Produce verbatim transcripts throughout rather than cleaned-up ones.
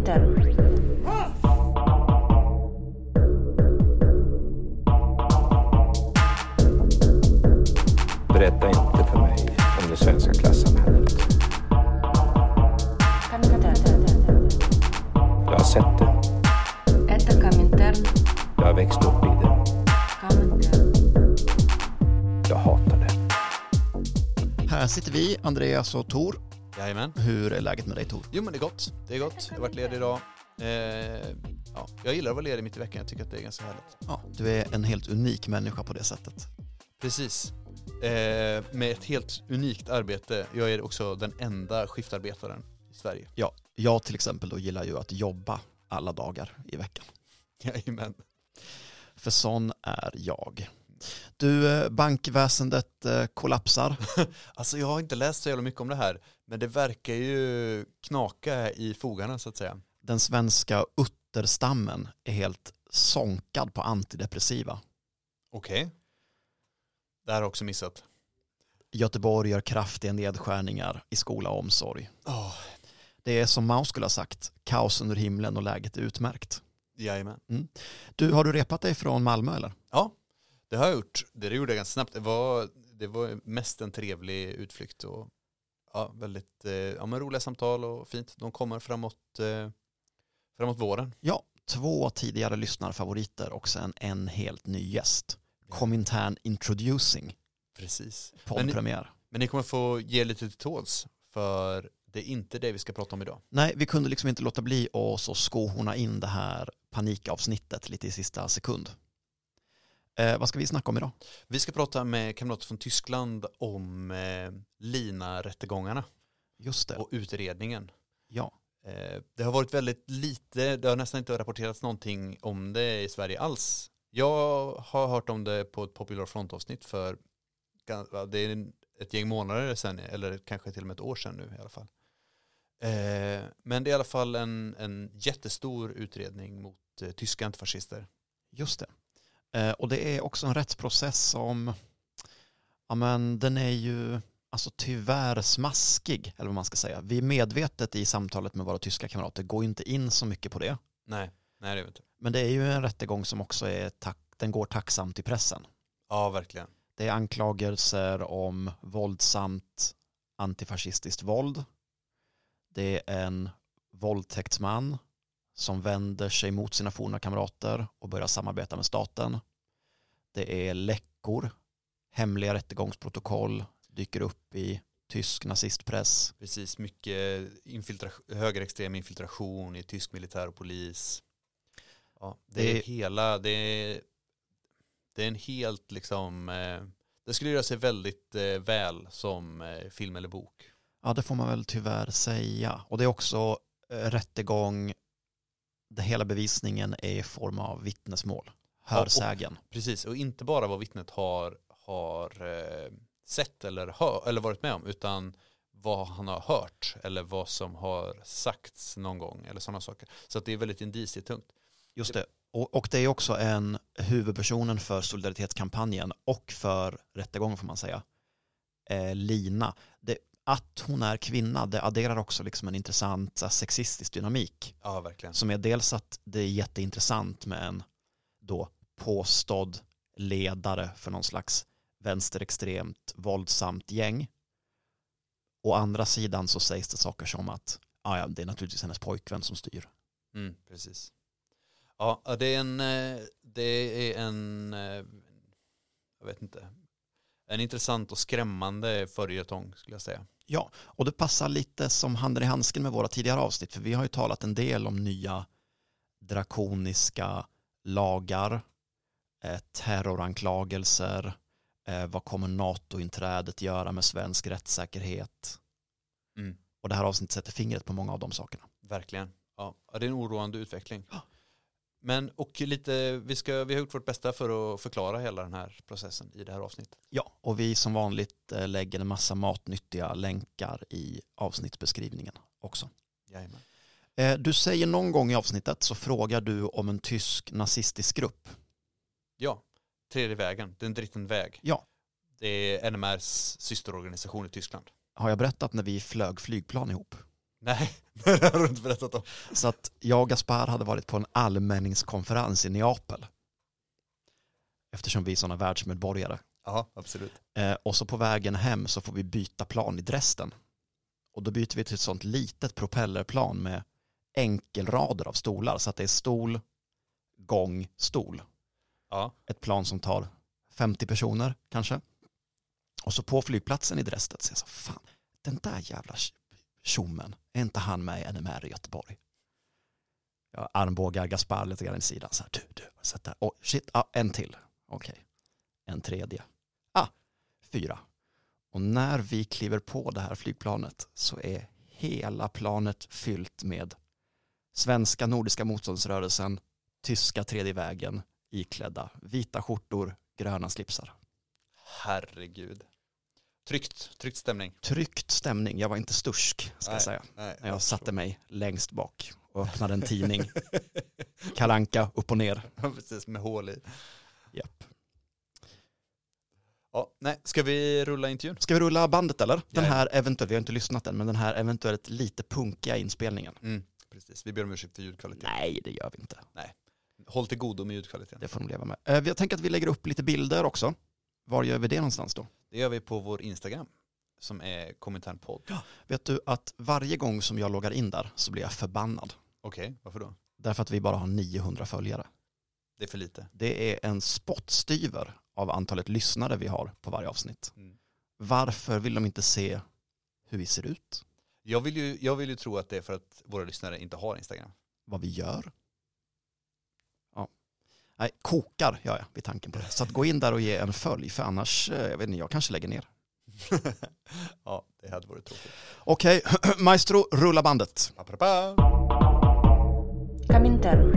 Komintern. Berätta inte för mig om det svenska klassamhället. Jag har sett det. Это Komintern. Jag har växt upp i det. Komintern. Jag hatar det. Här sitter vi, Andreas och Tor. Jajamän. Hur är läget med dig, Tor? Jo, men det är gott. Det är gott. Jag har varit ledig idag. Eh, ja, jag gillar att vara ledig mitt i veckan. Jag tycker att det är ganska härligt. Ja, du är en helt unik människa på det sättet. Precis. Eh, med ett helt unikt arbete. Jag är också den enda skiftarbetaren i Sverige. Ja, jag till exempel då gillar ju att jobba alla dagar i veckan. Jajamän. För sån är jag. Du, bankväsendet kollapsar. Alltså jag har inte läst så jävla mycket om det här. Men det verkar ju knaka i fogarna så att säga. Den svenska utterstammen är helt sonkad på antidepressiva. Okej. Okay. Det här har jag också missat. Göteborg gör kraftiga nedskärningar i skola och omsorg. Oh. Det är som Mao skulle ha sagt, kaos under himlen och läget är utmärkt. Jajamän. Mm. Du, har du repat dig från Malmö eller? Ja, det har jag gjort. Det gjorde jag ganska snabbt. Det var, det var mest en trevlig utflykt och ja, väldigt eh, ja, men roliga samtal och fint. De kommer framåt, eh, framåt våren. Ja, två tidigare lyssnarfavoriter och sen en helt ny gäst. Komintern Introducing. Precis. Poddpremiär. Men, men ni kommer få ge lite till tåls för det är inte det vi ska prata om idag. Nej, vi kunde liksom inte låta bli att så skohorna in det här panikavsnittet lite i sista sekund. Eh, vad ska vi snacka om idag? Vi ska prata med kamrater från Tyskland om eh, Lina-rättegångarna. Just det. Och utredningen. Ja. Eh, det har varit väldigt lite, det har nästan inte rapporterats någonting om det i Sverige alls. Jag har hört om det på ett Popular Front-avsnitt för det är ett gäng månader sedan, eller kanske till och med ett år sedan nu i alla fall. Eh, men det är i alla fall en, en jättestor utredning mot eh, tyska antifascister. Just det. Eh, och det är också en rättsprocess som, ja men den är ju alltså tyvärr smaskig, eller vad man ska säga. Vi är medvetet i samtalet med våra tyska kamrater, går inte in så mycket på det. Nej, nej det är inte. Men det är ju en rättegång som också är, tack, den går tacksamt i pressen. Ja, verkligen. Det är anklagelser om våldsamt antifascistiskt våld. Det är en våldtäktsman som vänder sig mot sina forna kamrater och börjar samarbeta med staten. Det är läckor, hemliga rättegångsprotokoll dyker upp i tysk nazistpress. Precis, mycket infiltra- högerextrem infiltration i tysk militär och polis. Ja, det, det är hela, det är, det är en helt liksom, eh, det skulle göra sig väldigt eh, väl som eh, film eller bok. Ja, det får man väl tyvärr säga. Och det är också eh, rättegång där hela bevisningen är i form av vittnesmål. Hörsägen. Ja, och, precis, och inte bara vad vittnet har, har eh, sett eller, hör, eller varit med om, utan vad han har hört eller vad som har sagts någon gång eller sådana saker. Så att det är väldigt indicietungt. Just det. Och, och det är också en huvudpersonen för solidaritetskampanjen och för rättegången får man säga. Eh, Lina. Det, att hon är kvinna, det adderar också liksom en intressant så, sexistisk dynamik. Ja, verkligen. Som är dels att det är jätteintressant med en då påstådd ledare för någon slags vänsterextremt våldsamt gäng. Å andra sidan så sägs det saker som att ah ja, det är naturligtvis hennes pojkvän som styr. Mm, precis. Ja, det är en det är en jag vet inte en intressant och skrämmande följetong skulle jag säga. Ja, och det passar lite som handen i handsken med våra tidigare avsnitt för vi har ju talat en del om nya drakoniska lagar, eh, terroranklagelser, eh, vad kommer NATO-inträdet göra med svensk rättssäkerhet? Mm. Och det här avsnittet sätter fingret på många av de sakerna. Verkligen. Ja, det är en oroande utveckling. Ja. Men och lite, vi, ska, vi har gjort vårt bästa för att förklara hela den här processen i det här avsnittet. Ja, och vi som vanligt lägger en massa matnyttiga länkar i avsnittsbeskrivningen också. Jajamän. Du säger någon gång i avsnittet så frågar du om en tysk nazistisk grupp. Ja, Tredje vägen, den dritten väg. Ja. Det är N M R:s systerorganisation i Tyskland. Har jag berättat när vi flög flygplan ihop? Nej, det har du inte berättat om. Så att jag och Gaspar hade varit på en allmänningskonferens i Neapel. Eftersom vi är sådana världsmedborgare. Ja, absolut. Eh, och så på vägen hem så får vi byta plan i Dresden. Och då byter vi till ett sånt litet propellerplan med enkelrader av stolar. Så att det är stol, gång, stol. Ja. Ett plan som tar femtio personer kanske. Och så på flygplatsen i Dresden så jag så fan, den där jävla tjommen, är inte han med i N M R i Göteborg? Jag armbågar Gaspar lite grann i sidan. Så här, du, du, sätt där. Oh, shit, ah, en till. Okej. Okay. En tredje. Ah, fyra. Och när vi kliver på det här flygplanet så är hela planet fyllt med svenska Nordiska motståndsrörelsen, tyska tredje vägen, iklädda vita skjortor, gröna slipsar. Herregud. Tryckt, tryckt stämning. Tryckt stämning. Jag var inte stursk, ska nej, jag säga. Nej, när jag, jag satte tror. mig längst bak och öppnade en tidning. Kalanka upp och ner. Precis, med hål i. Japp. Ja, nej, ska vi rulla intervjun? Ska vi rulla bandet eller? Den Ja. här eventuellt, vi har inte lyssnat än, men den här eventuellt lite punkiga inspelningen. Mm, precis, vi ber om ursäkt för ljudkvaliteten. Nej, det gör vi inte. Nej. Håll till godo med ljudkvaliteten. Det får de leva med. Eh, Jag tänker att vi lägger upp lite bilder också. Var gör vi det någonstans då? Det gör vi på vår Instagram som är Kominternpodd. Ja. Vet du att varje gång som jag loggar in där så blir jag förbannad. Okej, okay, varför då? Därför att vi bara har niohundra följare. Det är för lite. Det är en spottstyver av antalet lyssnare vi har på varje avsnitt. Mm. Varför vill de inte se hur vi ser ut? Jag vill, ju, jag vill ju tro att det är för att våra lyssnare inte har Instagram. Vad vi gör? Ja. Nej, kokar gör jag vid tanken på det. Så att gå in där och ge en följ, för annars, jag vet inte, jag kanske lägger ner. Ja, det hade varit tråkigt. Okej, Maestro, rulla bandet. Pa, pa, pa. Comintern.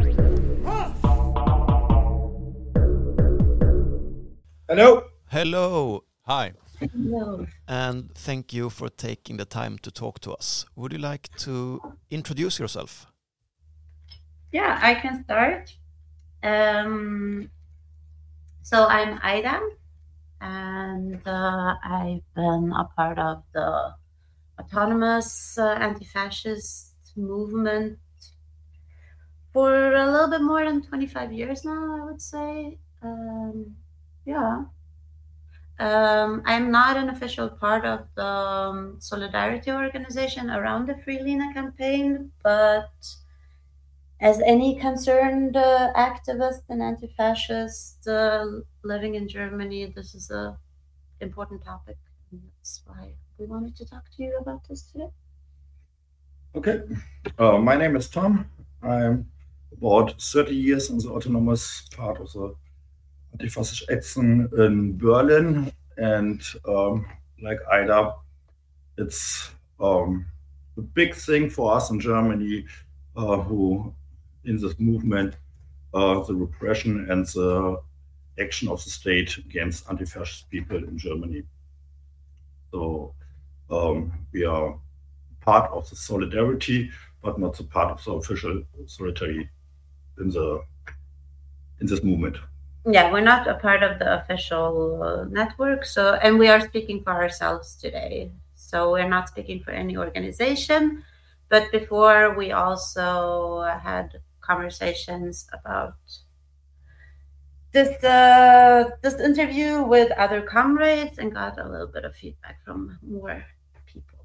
Hello. Hello, Hi. No. and thank you for taking the time to talk to us. Would you like to introduce yourself? Yeah, I can start. Um, so I'm Aida, and uh, I've been a part of the autonomous uh, anti-fascist movement for a little bit more than twenty-five years now, I would say. Um, yeah. Um, I'm not an official part of the um, solidarity organization around the Free Lina campaign, but as any concerned uh, activist and anti-fascist uh, living in Germany, this is a important topic, and that's why we wanted to talk to you about this today. Okay. Uh, my name is Tom. I'm about thirty years in the autonomous part of the anti-fascist action in Berlin, and um, like Ida, it's um, a big thing for us in Germany uh, who in this movement, uh, the repression and the action of the state against anti-fascist people in Germany. So um, we are part of the solidarity, but not the part of the official solidarity in the in this movement. Yeah, we're not a part of the official uh, network, so and we are speaking for ourselves today. So we're not speaking for any organization, but before we also had conversations about this uh, this interview with other comrades and got a little bit of feedback from more people.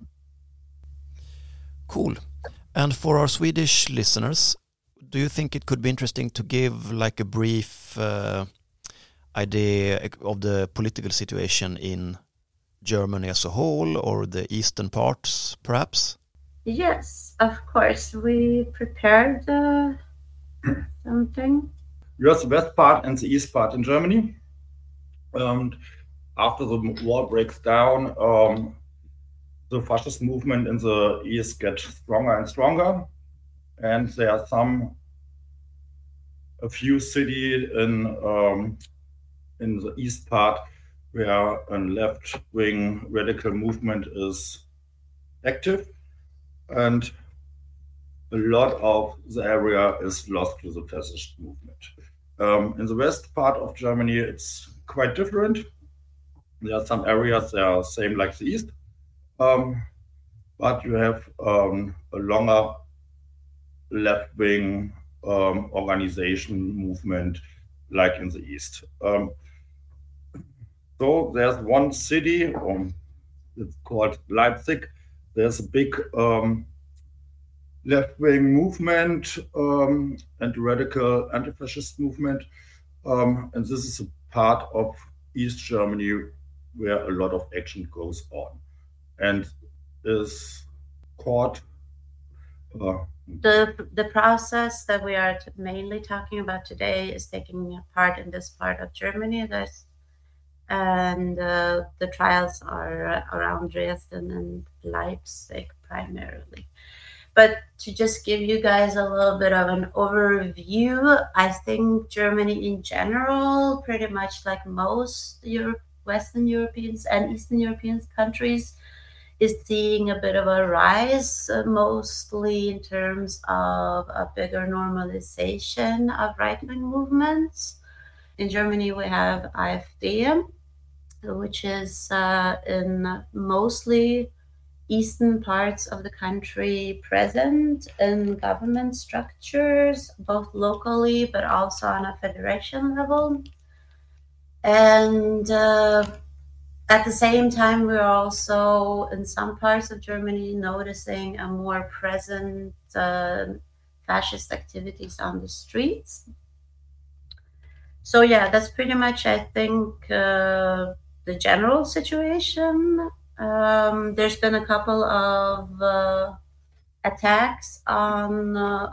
Cool. And for our Swedish listeners, do you think it could be interesting to give like a brief uh, idea of the political situation in Germany as a whole, or the eastern parts, perhaps? Yes, of course. We prepared uh, something. You have the west part and the east part in Germany. And after the war breaks down, um, the fascist movement in the east gets stronger and stronger. And there are some, a few cities in um, in the east part where a left-wing radical movement is active. And a lot of the area is lost to the fascist movement. Um, in the west part of Germany, it's quite different. There are some areas that are same like the east. Um, but you have um, a longer left-wing um, organization movement like in the East. Um, so there's one city, um, it's called Leipzig. There's a big um, left-wing movement um, and radical anti-fascist movement. Um, and this is a part of East Germany where a lot of action goes on and is called uh, the the process that we are t- mainly talking about today is taking part in this part of Germany. There's, and uh, the trials are around Dresden and Leipzig primarily. But to just give you guys a little bit of an overview, I think Germany in general, pretty much like most Europe, Western Europeans and Eastern European countries, is seeing a bit of a rise, uh, mostly in terms of a bigger normalization of right-wing movements. In Germany, we have AfD, which is uh, in mostly eastern parts of the country present in government structures, both locally but also on a federation level. And uh, at the same time, we're also in some parts of Germany noticing a more present uh, fascist activities on the streets. So yeah, that's pretty much, I think, uh, the general situation. Um, there's been a couple of uh, attacks on uh,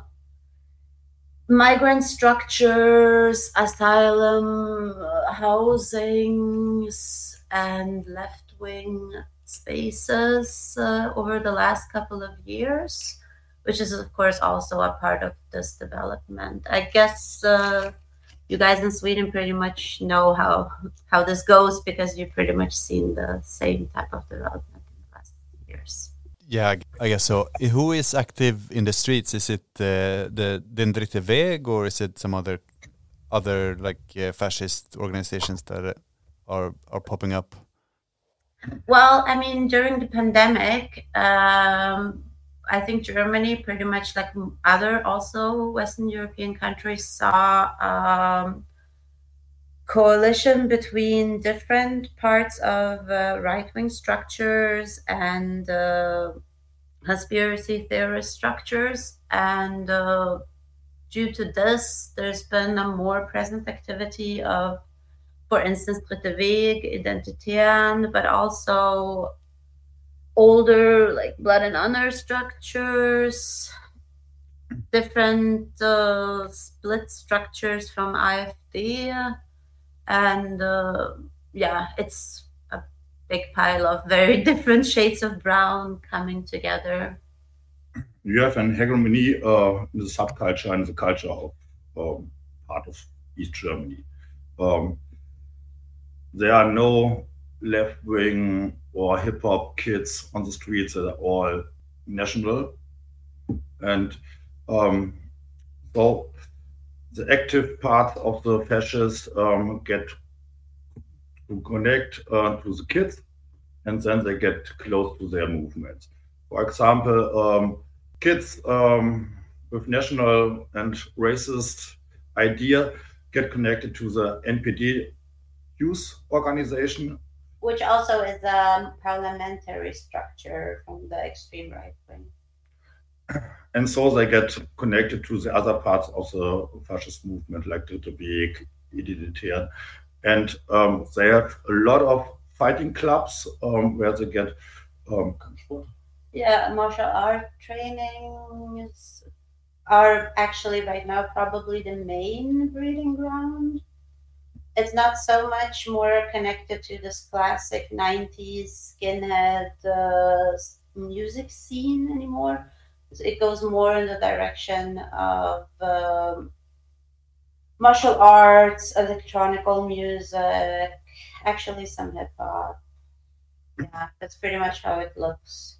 migrant structures, asylum, uh, housings, and left-wing spaces uh, over the last couple of years, which is, of course, also a part of this development. I guess uh, you guys in Sweden pretty much know how how this goes because you've pretty much seen the same type of development in the last years. Yeah, I guess so. Who is active in the streets? Is it uh, the Den Dritte Weg, or is it some other other like uh, fascist organizations that are are popping up? Well, I mean, during the pandemic, um, I think Germany, pretty much like other also Western European countries, saw um, coalition between different parts of uh, right-wing structures and uh, conspiracy theorist structures. And uh, due to this, there's been a more present activity of, for instance, Dritte Weg, Identitären, but also older like Blood and Honor structures, different uh, split structures from AfD, and uh, yeah, it's a big pile of very different shades of brown coming together. You have an hegemony uh, in the subculture and the culture of um, part of East Germany. Um, there are no left-wing or hip-hop kids on the streets that are all national. And um, so the active part of the fascists um, get to connect uh, to the kids, and then they get close to their movements. For example, um, kids um, with national and racist idea get connected to the N P D youth organization, which also is a parliamentary structure from the extreme right wing. And so they get connected to the other parts of the fascist movement, like Dritte Weg, Identitären. And um, they have a lot of fighting clubs um, where they get um, yeah, martial art trainings are actually right now probably the main breeding ground. It's not so much more connected to this classic nineties skinhead uh, music scene anymore. It goes more in the direction of um, martial arts, electronical music, actually some hip hop. Yeah, that's pretty much how it looks.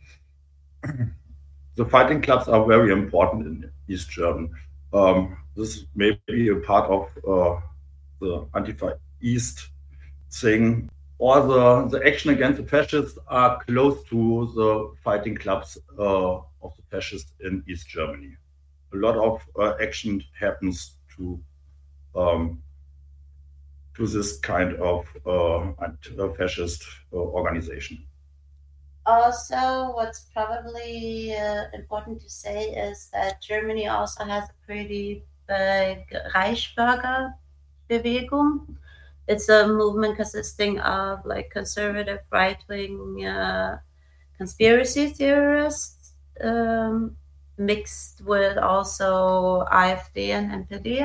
The fighting clubs are very important in East Germany. Um, this may be a part of uh, the Antifa East thing or the, the action against the fascists are close to the fighting clubs uh, of the fascists in East Germany. A lot of uh, action happens to um, to this kind of uh, fascist uh, organization. Also, what's probably uh, important to say is that Germany also has a pretty big Reichsbürger Bewegung. It's a movement consisting of like conservative right-wing uh, conspiracy theorists um, mixed with also AfD and N P D.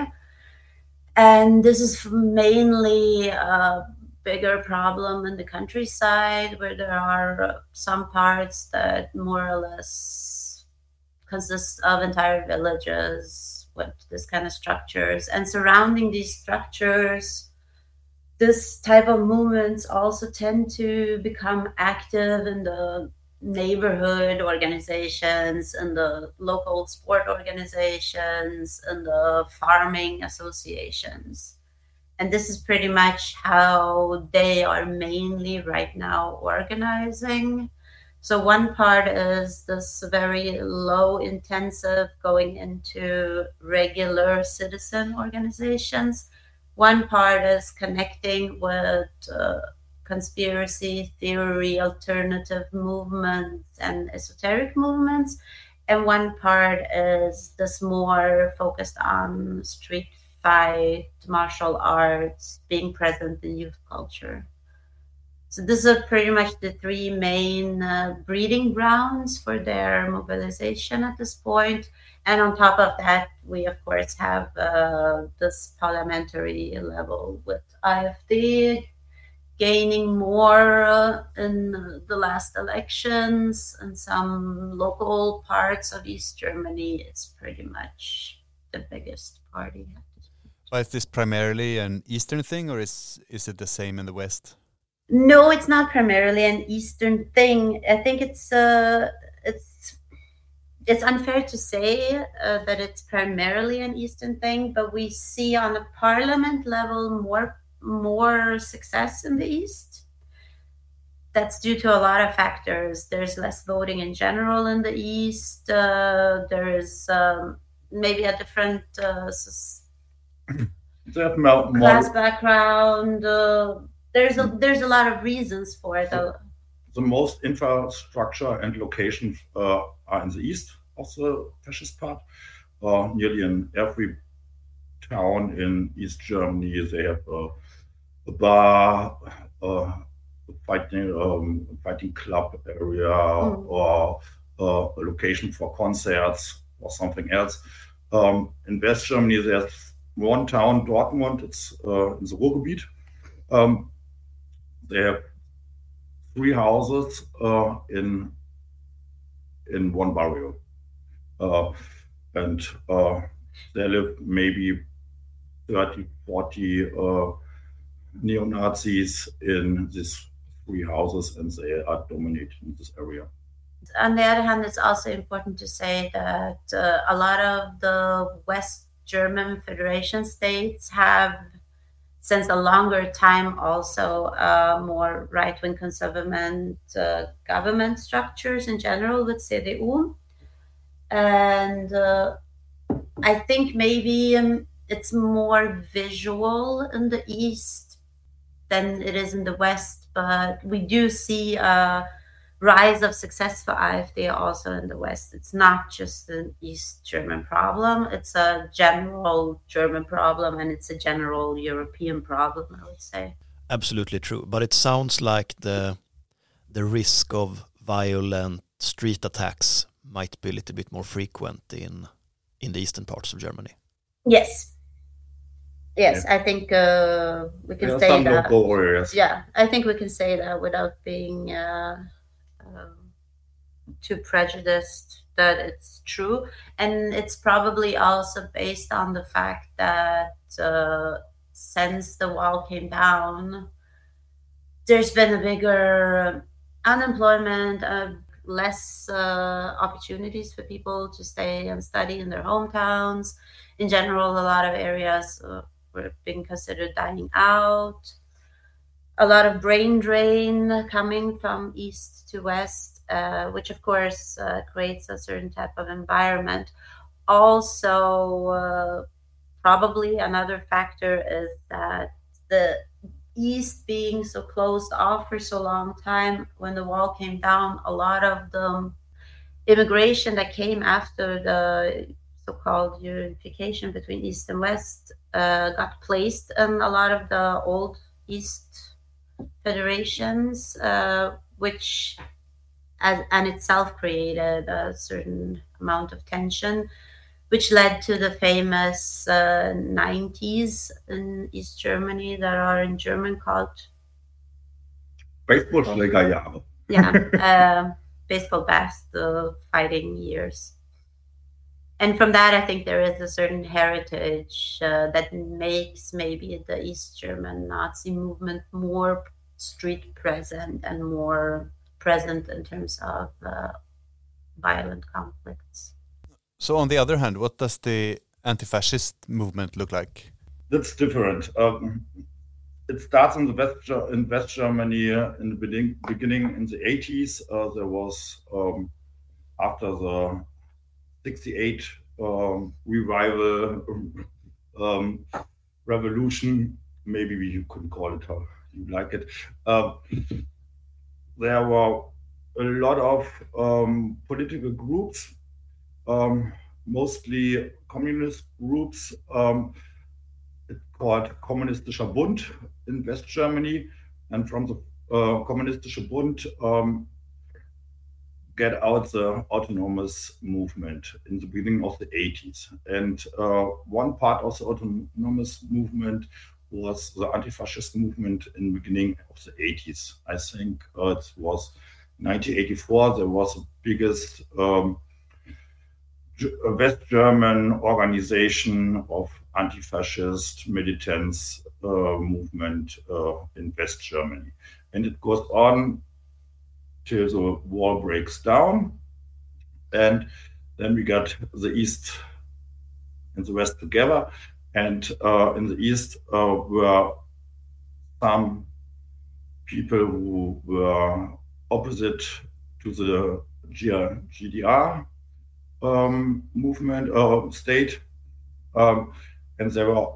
And this is mainly a bigger problem in the countryside, where there are some parts that more or less consist of entire villages with this kind of structures. And surrounding these structures, this type of movements also tend to become active in the neighborhood organizations and the local sport organizations and the farming associations. And this is pretty much how they are mainly right now organizing. So one part is this very low intensive going into regular citizen organizations. One part is connecting with uh, conspiracy theory, alternative movements, and esoteric movements. And one part is this more focused on street fight, martial arts, being present in youth culture. So these are pretty much the three main uh, breeding grounds for their mobilization at this point. And on top of that, we of course have uh, this parliamentary level with AfD gaining more uh, in the last elections, and some local parts of East Germany. It's pretty much the biggest party. But is this primarily an Eastern thing, or is is it the same in the West? No, it's not primarily an Eastern thing. I think it's uh, it's it's unfair to say uh, that it's primarily an Eastern thing, but we see on a parliament level more more success in the East. That's due to a lot of factors. There's less voting in general in the East. Uh, there is um, maybe a different uh, more, class background. Uh, there's a there's a lot of reasons for it. The, the most infrastructure and locations uh, are in the east of the fascist part. Uh, nearly in every town in East Germany, they have a, a bar, uh, a fighting um, fighting club area, mm. or uh, a location for concerts or something else. Um, in West Germany, there's one town, Dortmund. It's uh, in the Ruhrgebiet. Um, they have three houses uh, in in one barrio, uh, and uh, there live maybe thirty, forty uh, neo-Nazis in these three houses, and they are dominating this area. On the other hand, it's also important to say that uh, a lot of the West German Federation states have, since a longer time, also uh, more right-wing conservative uh, government structures in general with C D U. And uh, I think maybe um, it's more visual in the East than it is in the West, but we do see a rise of success for AfD also in the West. It's not just an East German problem, it's a general German problem, and it's a general European problem, I would say. Absolutely true, but it sounds like the the risk of violent street attacks might be a little bit more frequent in in the eastern parts of Germany. Yes. Yes, yeah. I think uh, we can yeah, say that. Areas. Yeah, I think we can say that without being uh, um, too prejudiced that it's true. And it's probably also based on the fact that uh, since the wall came down, there's been a bigger unemployment, uh, less uh, opportunities for people to stay and study in their hometowns. In general, a lot of areas uh, were being considered dying out. a lot of brain drain coming from east to west, uh, which of course uh, creates a certain type of environment. Also, uh, probably another factor is that the east being so closed off for so long time, when the wall came down, a lot of the immigration that came after the so-called unification between east and west uh, got placed in a lot of the old east federations, uh, which as, and itself created a certain amount of tension, which led to the famous uh, nineties in East Germany that are in German called Baseballschlägerjahre. yeah, uh, baseball bats, the fighting years. And from that, I think there is a certain heritage uh, that makes maybe the East German Nazi movement more street present and more present in terms of uh, violent conflicts. So on the other hand, what does the anti-fascist movement look like? That's different. Um, it starts in the West, in West Germany uh, in the beginning, beginning in the eighties. Uh, there was um, after the sixty-eight um, revival um, revolution, maybe you couldn't call it how you like it. Uh, there were a lot of um, political groups, um, mostly communist groups. Um, it's called Kommunistischer Bund in West Germany, and from the uh, Kommunistischer Bund um, get out the autonomous movement in the beginning of the eighties. And uh, one part of the autonomous movement was the anti-fascist movement in the beginning of the eighties. I think uh, it was nineteen eighty-four, there was the biggest um, West German organization of anti-fascist militants uh, movement uh, in West Germany. And it goes on till the wall breaks down. And then we got the East and the West together. And uh, in the East uh, were some people who were opposite to the G D R um, movement or uh, state. Um, and there were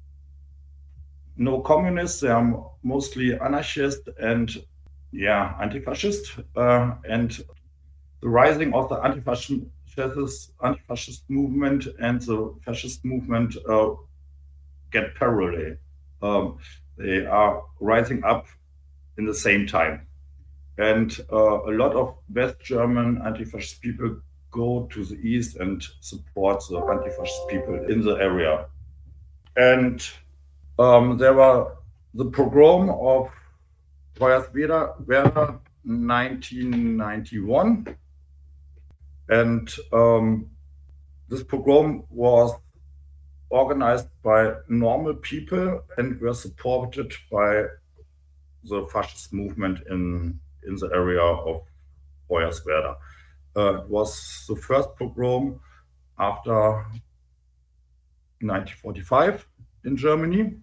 no communists, they are mostly anarchist and yeah, anti-fascist. Uh, and the rising of the anti-fascist, anti-fascist movement and the fascist movement uh, get parallel. Um, they are rising up in the same time. And uh, a lot of West German anti-fascist people go to the east and support the anti-fascist people in the area. And um, there were the pogrom of Hoyerswerda, nineteen ninety-one. And um, this pogrom was organized by normal people and were supported by the fascist movement in, in the area of Hoyerswerda. Uh, it was the first pogrom after nineteen forty-five in Germany.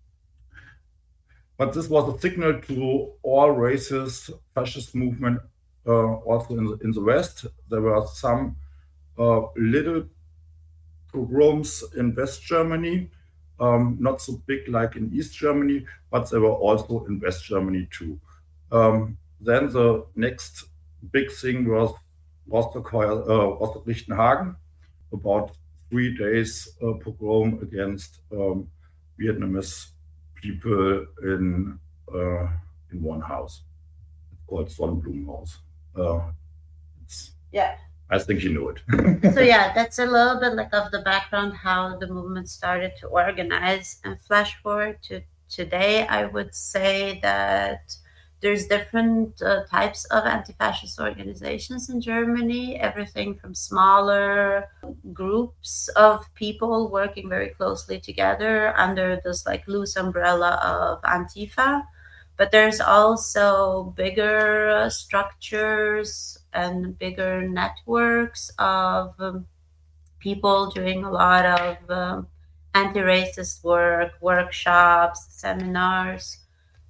But this was a signal to all racist fascist movement uh, also in the, in the West. There were some uh, little pogroms in West Germany, um, not so big like in East Germany, but they were also in West Germany too. Um, then the next big thing was Rostock, uh, Rostock-Lichtenhagen, about three days uh, pogrom against um, Vietnamese people in uh, in one house. It's called Sonnenblumenhaus. Uh, it's, yeah. I think you know it. So yeah, that's a little bit like of the background, how the movement started to organize. And flash forward to today, I would say that there's different uh, types of anti-fascist organizations in Germany, everything from smaller groups of people working very closely together under this like loose umbrella of Antifa. But there's also bigger uh, structures and bigger networks of um, people doing a lot of um, anti-racist work, workshops, seminars.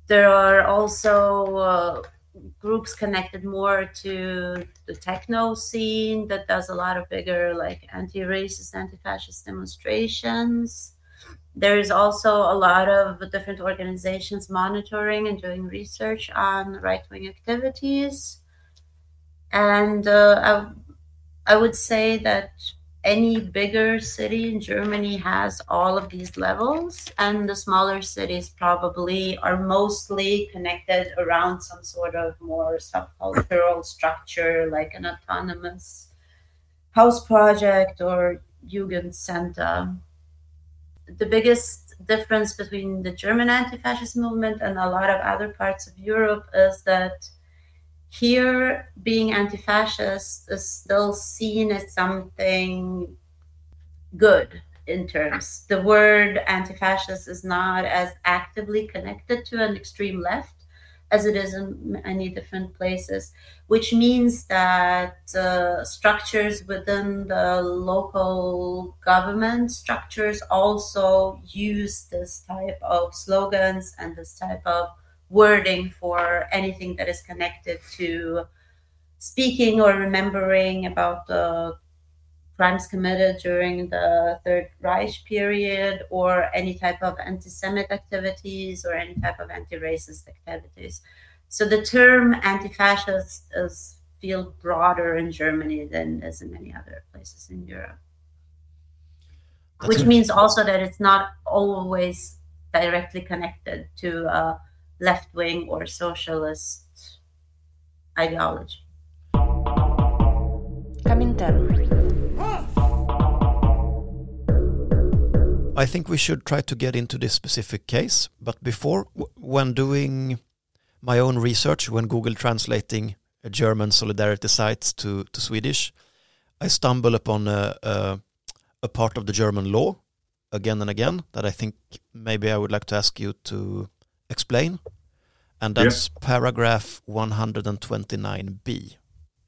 there are also uh, groups connected more to the techno scene that does a lot of bigger, like anti-racist, anti-fascist demonstrations. There's also a lot of different organizations monitoring and doing research on right-wing activities. And uh, I, I would say that any bigger city in Germany has all of these levels, and the smaller cities probably are mostly connected around some sort of more subcultural structure, like an autonomous house project or Jugendcenter. The biggest difference between the German anti-fascist movement and a lot of other parts of Europe is that here, being anti-fascist is still seen as something good in terms. The word anti-fascist is not as actively connected to an extreme left as it is in many different places, which means that uh, structures within the local government structures also use this type of slogans and this type of wording for anything that is connected to speaking or remembering about the crimes committed during the Third Reich period, or any type of anti-Semitic activities or any type of anti-racist activities. So the term anti-fascist is feel broader in Germany than is in many other places in Europe. That's Which means also that it's not always directly connected to uh, left-wing or socialist ideology. Comintern. I think we should try to get into this specific case, but before, w- when doing my own research, when Google translating a German solidarity sites to, to Swedish, I stumble upon a, a, a part of the German law again and again that I think maybe I would like to ask you to explain, and that's yeah. paragraph one twenty-nine B.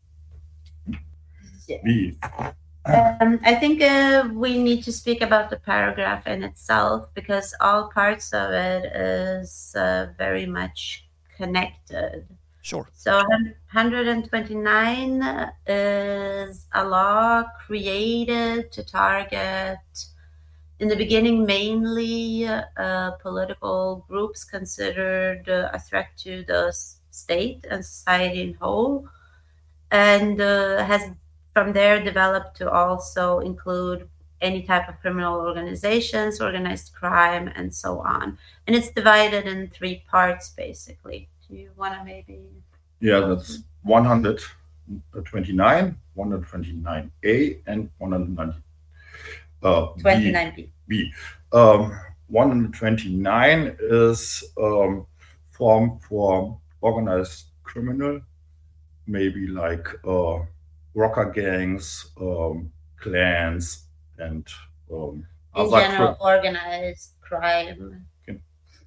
Yeah. B. Um, I think uh, we need to speak about the paragraph in itself, because all parts of it is uh, very much connected. Sure. So one twenty-nine is a law created to target, in the beginning, mainly uh, political groups considered uh, a threat to the state and society in whole, and uh, has from there developed to also include any type of criminal organizations, organized crime, and so on. And it's divided in three parts, basically. Do you want to maybe... Yeah, that's one twenty-nine, one twenty-nine A, and one ninety. Uh, twenty-nine B. B. Um, one twenty-nine is um, formed for organized criminal, maybe like uh, rocker gangs, um, clans, and um, in other general, cri- organized crime. Okay.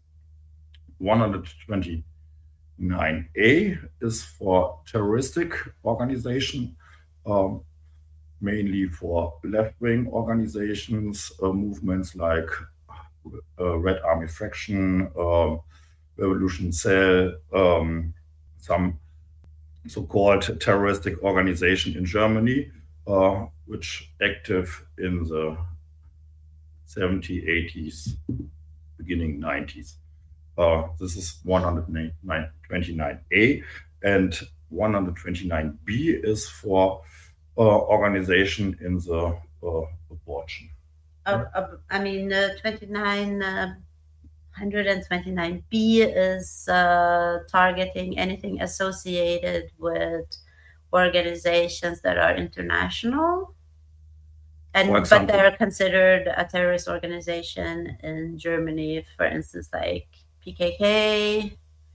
one twenty-nine A is for terroristic organization, um, mainly for left-wing organizations, uh, movements like uh, Red Army Faction, uh, Revolution Cell, um, some so-called terroristic organization in Germany, uh, which active in the seventies, eighties, beginning nineties. Uh, this is one twenty-nine A, and one twenty-nine B is for uh, organization in the uh, abortion. Uh, uh, I mean, uh, twenty-nine. Uh... one twenty-nine B is uh, targeting anything associated with organizations that are international, and but they're considered a terrorist organization in Germany, for instance, like P K K,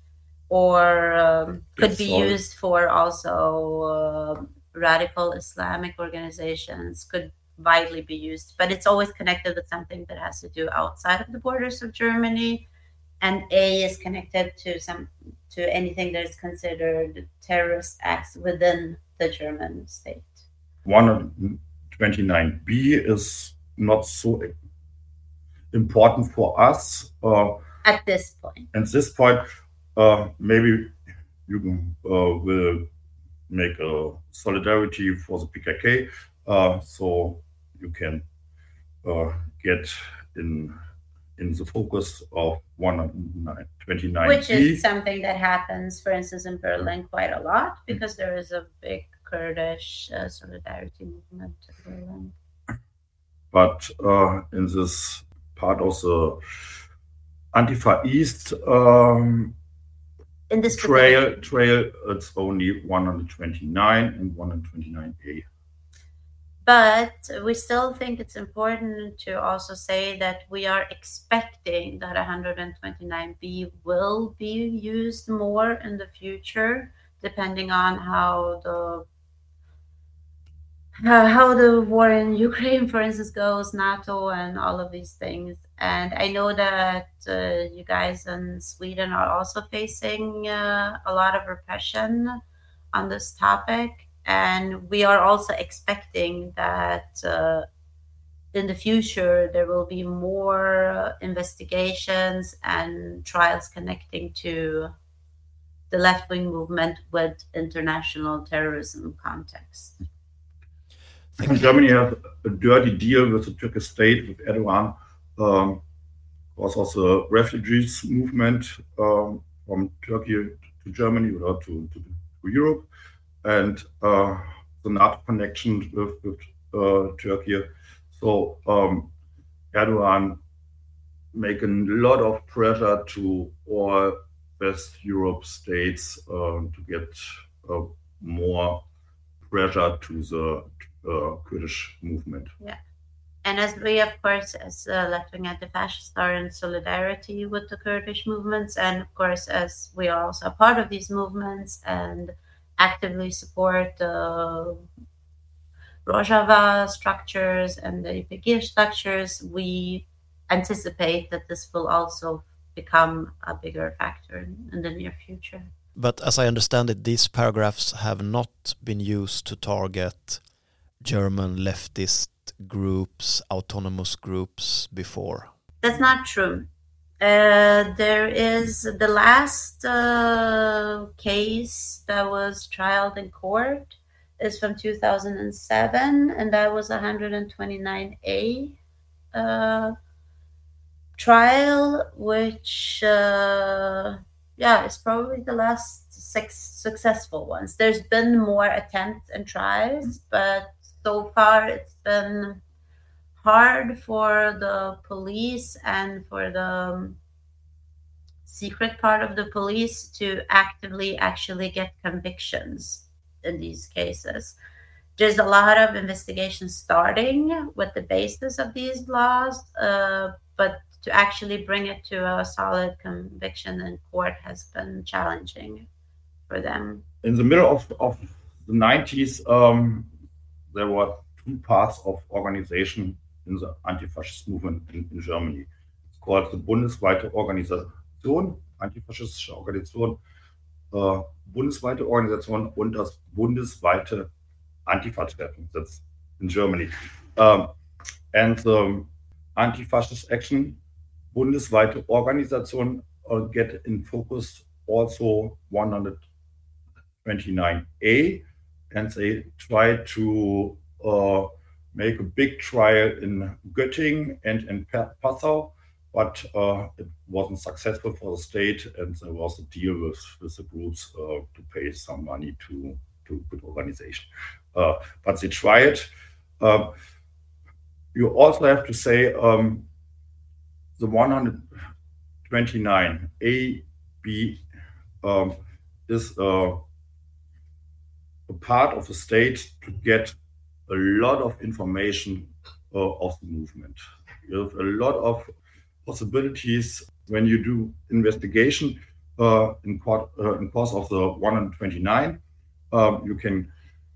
or um, could yes, be sorry. used for also uh, radical Islamic organizations, could widely be used, but it's always connected with something that has to do outside of the borders of Germany, and A is connected to some to anything that is considered terrorist acts within the German state. one twenty-nine B is not so important for us uh, at this point. At this point, uh, maybe you uh, will make a solidarity for the P K K, uh, so you can uh, get in in the focus of one twenty-nine B. Which is something that happens, for instance, in Berlin quite a lot, because there is a big Kurdish uh, solidarity movement in Berlin. But uh, in this part of the Antifa East um, in this trail, trail, it's only one twenty-nine and one twenty-nine A. But we still think it's important to also say that we are expecting that one twenty-nine B will be used more in the future, depending on how the uh, how the war in Ukraine, for instance, goes, NATO, and all of these things. And I know that uh, you guys in Sweden are also facing uh, a lot of repression on this topic. And we are also expecting that uh, in the future, there will be more investigations and trials connecting to the left-wing movement with international terrorism context. Germany has a dirty deal with the Turkish state, with Erdogan, um, because of the refugees movement um, from Turkey to Germany or to, to, to Europe. And uh, the NATO connection with, with uh, Turkey. So um, Erdogan making a lot of pressure to all West Europe states uh, to get uh, more pressure to the uh, Kurdish movement. Yeah. And as we, of course, as uh, left-wing anti-fascists are in solidarity with the Kurdish movements, and of course, as we are also a part of these movements and actively support the Rojava structures and the Y P G structures, we anticipate that this will also become a bigger factor in, in the near future. But as I understand it, these paragraphs have not been used to target German leftist groups, autonomous groups before. That's not true. Uh, there is the last uh, case that was trialed in court is from two thousand seven, and that was a one twenty-nine A uh, trial, which uh, yeah, is probably the last six successful ones. There's been more attempts and tries, but so far it's been hard for the police and for the secret part of the police to actively actually get convictions in these cases. There's a lot of investigations starting with the basis of these laws, uh, but to actually bring it to a solid conviction in court has been challenging for them. In the middle of, of the nineties, um, there were two parts of organization in the anti-fascist movement in, in Germany. It's called the Bundesweite Organisation, antifaschistische Organisation, uh, bundesweite Organisation und das bundesweite Antifa-Treffen. That's in Germany. Um, and the anti-fascist action, bundesweite Organisation, uh, get in focus also one twenty-nine A, and they try to uh, make a big trial in Göttingen and in Passau, but uh, it wasn't successful for the state, and there was a deal with, with the groups uh, to pay some money to, to good organization. Uh, but they tried. Uh, you also have to say um, the one twenty-nine A, B um, is uh, a part of the state to get a lot of information uh, of the movement. You have a lot of possibilities when you do investigation uh, in, court, uh, in course of the one twenty-nine. Um, you can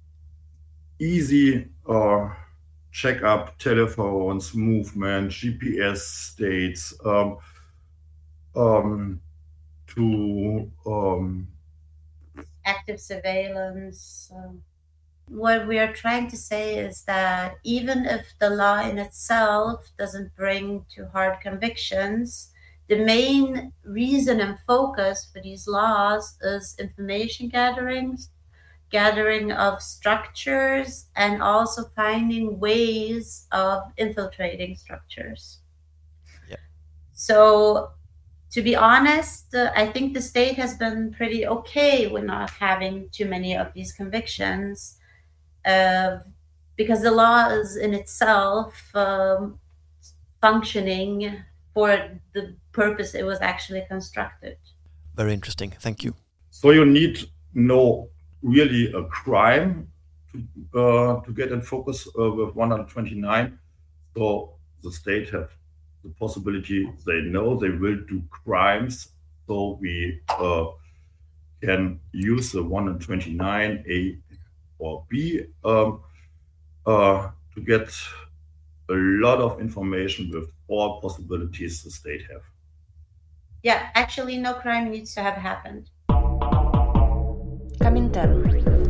easy uh, check up telephones, movement, G P S states um, um, to um, active surveillance. Um, what we are trying to say is that even if the law in itself doesn't bring to hard convictions, the main reason and focus for these laws is information gathering, gathering of structures, and also finding ways of infiltrating structures. Yeah. So, to be honest, uh, I think the state has been pretty okay with not having too many of these convictions, uh, because the law is in itself um, functioning for the purpose it was actually constructed. Very interesting. Thank you. So you need no really a crime to, uh, to get in focus uh, with one hundred twenty-nine. So the state have the possibility, they know they will do crimes, so we uh, can use the one hundred twenty-nine A or B um, uh, to get a lot of information with all possibilities the state have. Yeah, actually no crime needs to have happened. Comintern.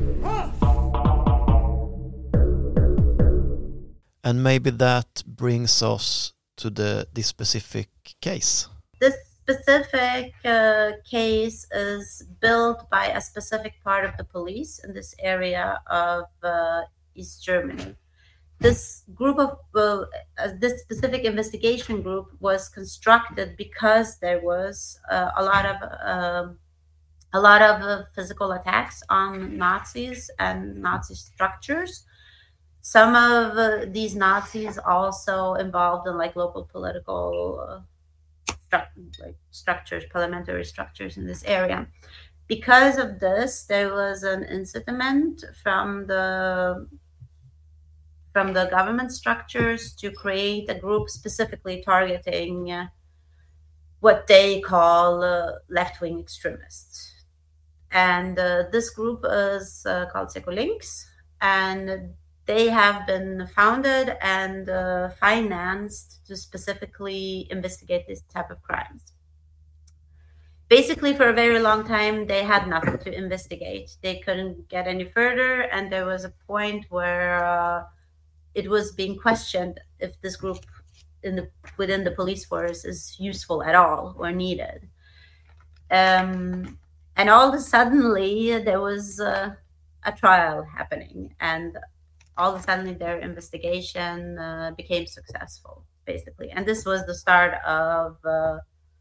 And maybe that brings us to the this specific case. This specific uh, case is built by a specific part of the police in this area of uh, East Germany. This group of uh, uh, this specific investigation group was constructed because there was uh, a lot of uh, a lot of uh, physical attacks on Nazis and Nazi structures. Some of uh, these Nazis also involved in like local political uh, stru- like structures, parliamentary structures in this area. Because of this, there was an incitement from the from the government structures to create a group specifically targeting uh, what they call uh, left-wing extremists. And uh, this group is uh, called Secolinks, and they have been founded and uh, financed to specifically investigate this type of crimes. Basically, for a very long time, they had nothing to investigate. They couldn't get any further, and there was a point where uh, it was being questioned if this group in the within the police force is useful at all or needed. Um, and all of a suddenly, there was uh, a trial happening, and all of a sudden their investigation uh, became successful, basically. And this was the start of uh,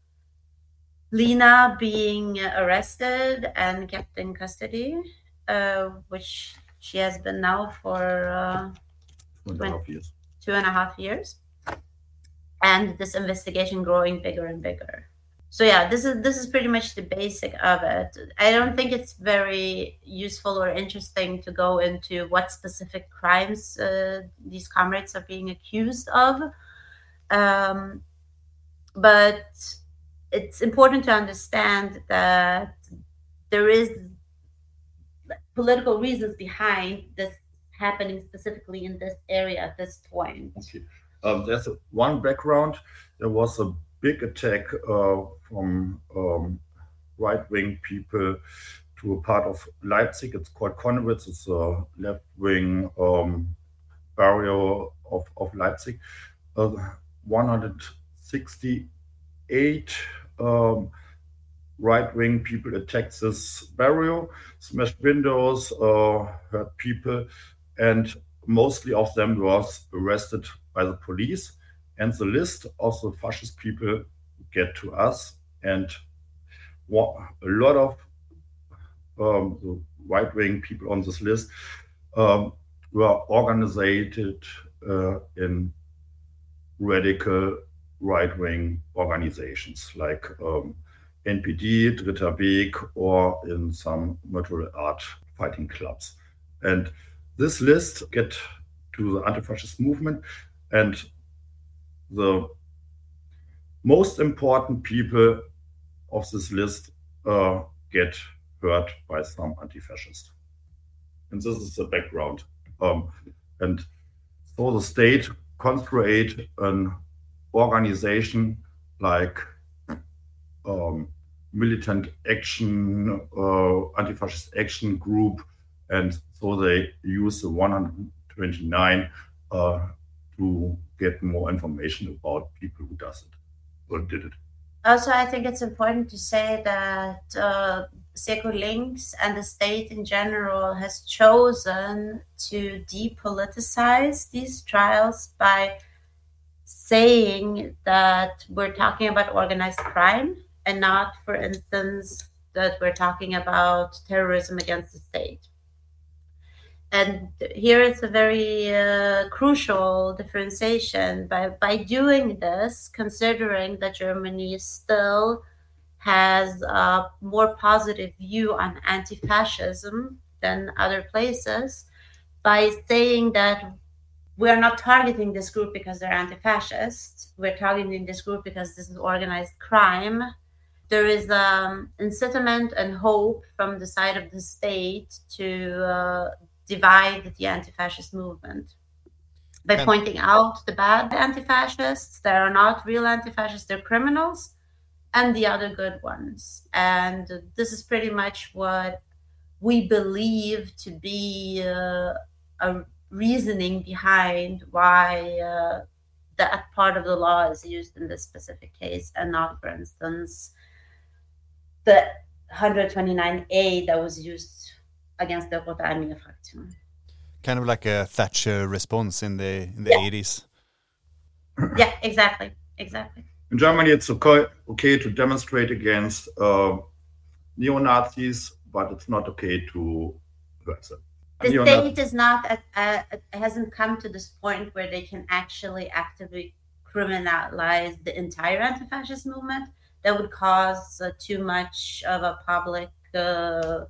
Lena being arrested and kept in custody, uh, which she has been now for uh, Two and a half years. two and a half years. And this investigation growing bigger and bigger. So yeah, this is this is pretty much the basic of it. I don't think it's very useful or interesting to go into what specific crimes uh, these comrades are being accused of. Um, but it's important to understand that there is political reasons behind this happening specifically in this area at this point. Okay. Um, there's a, one background. There was a big attack uh, from um, right-wing people to a part of Leipzig. It's called Konnewitz. It's a left-wing um, barrio of, of Leipzig. Uh, one hundred sixty-eight um, right-wing people attacked this barrio, smashed windows, uh, hurt people, and mostly of them was arrested by the police. And the list of the fascist people get to us, and a lot of um, the right-wing people on this list um, were organized uh, in radical right-wing organizations like um, N P D, Dritter Weg, or in some martial art fighting clubs. And this list get to the anti-fascist movement, and the most important people of this list uh, get hurt by some anti-fascist. And this is the background. Um, and so the state constructed an organization like um, Militant Action, uh, Anti-Fascist Action Group, and so they use the one hundred twenty-nine uh, to get more information about people who does it or did it. Also, I think it's important to say that uh, Seco Links and the state in general has chosen to depoliticize these trials by saying that we're talking about organized crime and not, for instance, that we're talking about terrorism against the state. And here is a very uh, crucial differentiation. By, by doing this, considering that Germany still has a more positive view on anti-fascism than other places, by saying that we're not targeting this group because they're anti-fascist, we're targeting this group because this is organized crime, there is um, incitement and hope from the side of the state to uh, divide the anti-fascist movement by And- pointing out the bad anti-fascists that are not real anti-fascists, they're criminals, and the other good ones. And this is pretty much what we believe to be uh, a reasoning behind why uh, that part of the law is used in this specific case and not, for instance, the one hundred twenty-nine A that was used against the Rote Armee-Fraktion. Kind of like a Thatcher response in the in the Yeah. eighties. Yeah, exactly, exactly. In Germany, it's okay, okay to demonstrate against uh, neo-Nazis, but it's not okay to hurt them. The Neo-Nazi- state is not at, uh, hasn't come to this point where they can actually actively criminalize the entire anti-fascist movement. That would cause uh, too much of a public uh,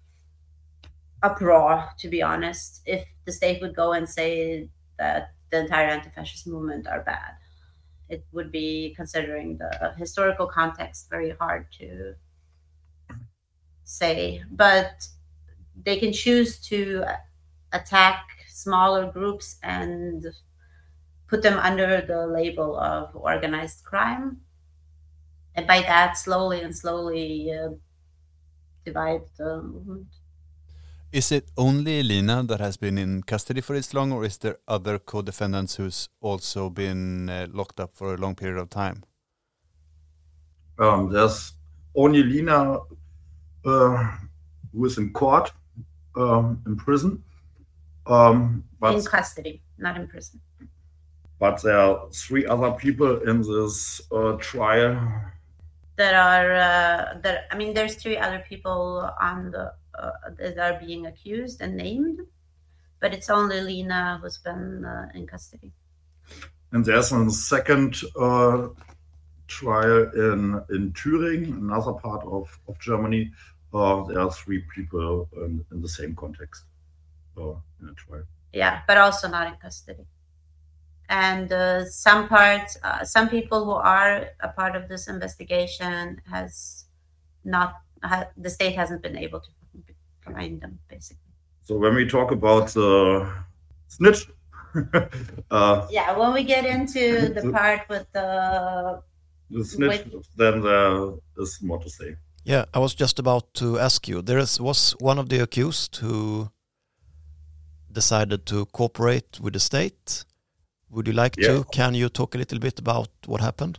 uproar, to be honest, if the state would go and say that the entire anti-fascist movement are bad. It would be, considering the historical context, very hard to say. But they can choose to attack smaller groups and put them under the label of organized crime. And by that, slowly and slowly uh, divide the movement. Is it only Lina that has been in custody for this long, or is there other co-defendants who's also been uh, locked up for a long period of time? Um, there's only Lina uh, who is in court, um, in prison. Um, but, In custody, not in prison. but there are three other people in this uh, trial. There are, uh, there. I mean, there's three other people on the uh, that are being accused and named, but it's only Lina who's been uh, in custody. And there's a second uh, trial in, in Thüringen, another part of, of Germany. Uh, there are three people in, in the same context uh, in a trial. Yeah, but also not in custody. And uh, some parts, uh, some people who are a part of this investigation has not, ha- the state hasn't been able to find them, basically. So when we talk about the snitch, uh, Yeah, when we get into the part with the, the snitch, then there is more to say. Yeah, I was just about to ask you. There is, was one of the accused who decided to cooperate with the state. Would you like Yeah. to? Can you talk a little bit about what happened?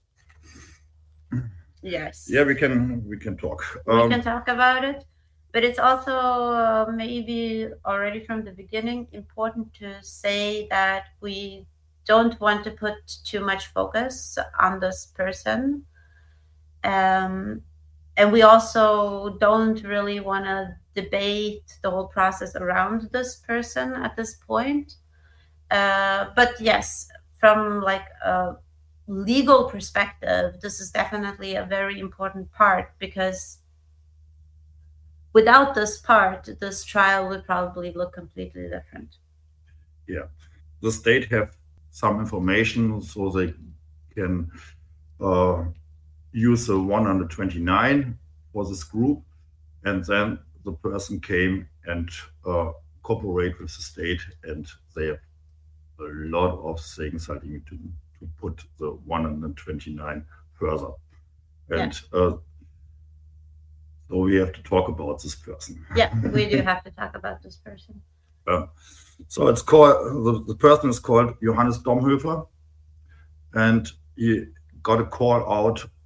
yes. Yeah, we can we can talk. We Um, can talk about it, but it's also uh, maybe already from the beginning important to say that we don't want to put too much focus on this person. Um, and we also don't really want to debate the whole process around this person at this point. Uh, but yes, from like a legal perspective, this is definitely a very important part, because without this part, this trial would probably look completely different. the state have some information so they can uh, use the one hundred twenty-nine for this group, and then the person came and uh, cooperate with the state, and they have a lot of things I think to, to put the one hundred twenty-nine further. And uh, so we have to talk about this person. Yeah, we do have to talk about this person. Um, so it's called, the, the person is called Johannes Domhöfer, and he got a call out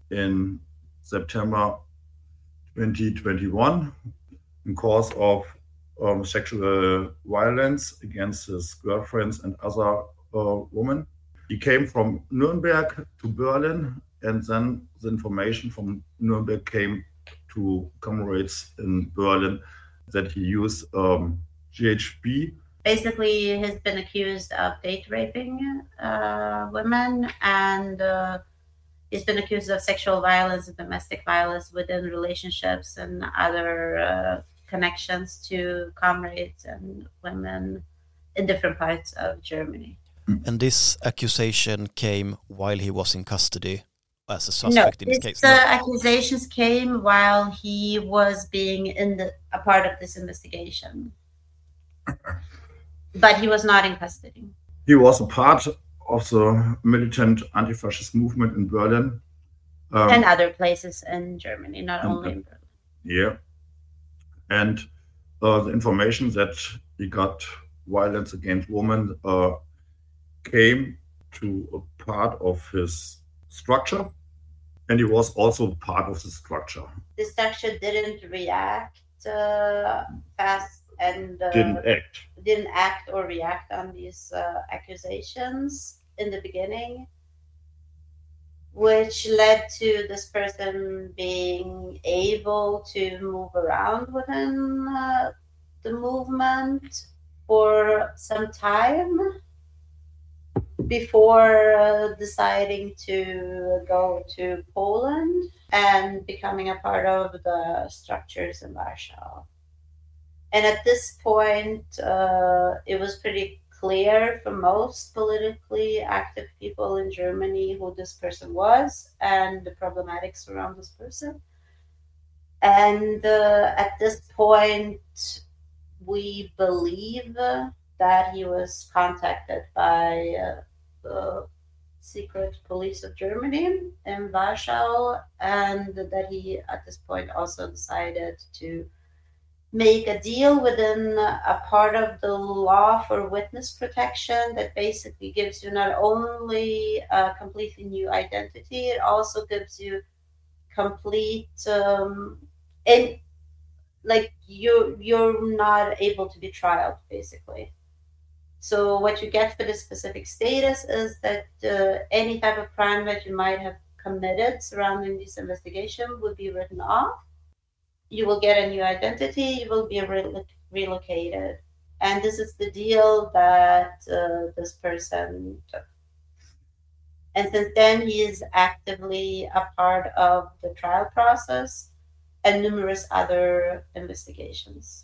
in September twenty twenty-one in cause of um, sexual violence against his girlfriends and other uh, women. He came from Nuremberg to Berlin, and then the information from Nuremberg came to comrades in Berlin that he used um, G H B. Basically, he's been accused of date raping uh, women, and uh, he's been accused of sexual violence and domestic violence within relationships and other uh, connections to comrades and women in different parts of Germany. And this accusation came while he was in custody as a suspect no, in this this, case? No, No, the accusations came while he was being in the, a part of this investigation. But he was not in custody. He was a part of the militant anti-fascist movement in Berlin. Um, and other places in Germany, not and, only in Berlin. Yeah. And uh, the information that he got violence against women uh, came to a part of his structure. And he was also part of the structure. The structure didn't react uh, fast and uh, Didn't act. didn't act or react on these uh, accusations in the beginning, which led to this person being able to move around within uh, the movement for some time before uh, deciding to go to Poland and becoming a part of the structures in Warsaw. And at this point, uh, it was pretty clear for most politically active people in Germany who this person was and the problematics around this person. And uh, at this point, we believe that he was contacted by uh, the secret police of Germany in Warsaw, and that he at this point also decided to make a deal within a part of the law for witness protection that basically gives you not only a completely new identity, it also gives you complete um, and like you you're not able to be trialed basically. So what you get for this specific status is that uh, any type of crime that you might have committed surrounding this investigation would be written off. You will get a new identity, you will be re- relocated. And this is the deal that uh, this person took. And since then, he is actively a part of the trial process and numerous other investigations.